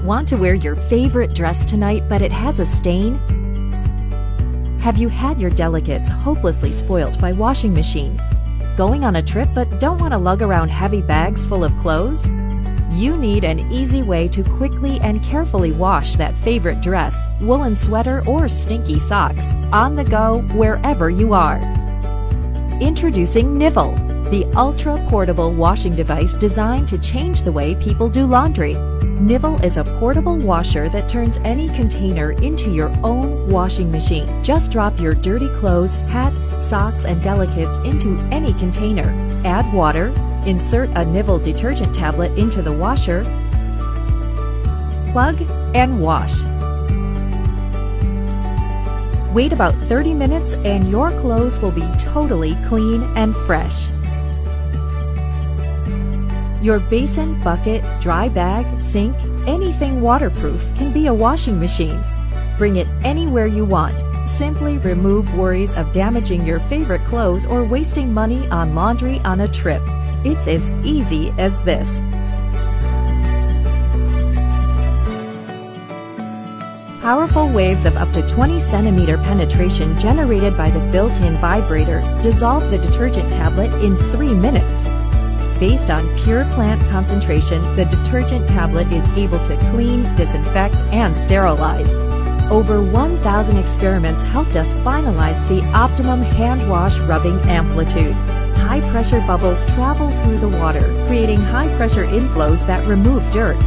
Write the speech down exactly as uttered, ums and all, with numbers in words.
Want to wear your favorite dress tonight, but it has a stain? Have you had your delicates hopelessly spoilt by washing machine? Going on a trip but don't want to lug around heavy bags full of clothes? You need an easy way to quickly and carefully wash that favorite dress, woolen sweater, or stinky socks on the go wherever you are. Introducing Nivel, the ultra-portable washing device designed to change the way people do laundry. Nivel is a portable washer that turns any container into your own washing machine. Just drop your dirty clothes, hats, socks, and delicates into any container. Add water, insert a Nivel detergent tablet into the washer, plug, and wash. Wait about thirty minutes and your clothes will be totally clean and fresh. Your basin, bucket, dry bag, sink, anything waterproof can be a washing machine. Bring it anywhere you want. Simply remove worries of damaging your favorite clothes or wasting money on laundry on a trip. It's as easy as this. Powerful waves of up to twenty centimeter penetration generated by the built-in vibrator dissolve the detergent tablet in three minutes. Based on pure plant concentration, the detergent tablet is able to clean, disinfect, and sterilize. Over one thousand experiments helped us finalize the optimum hand wash rubbing amplitude. High-pressure bubbles travel through the water, creating high-pressure inflows that remove dirt.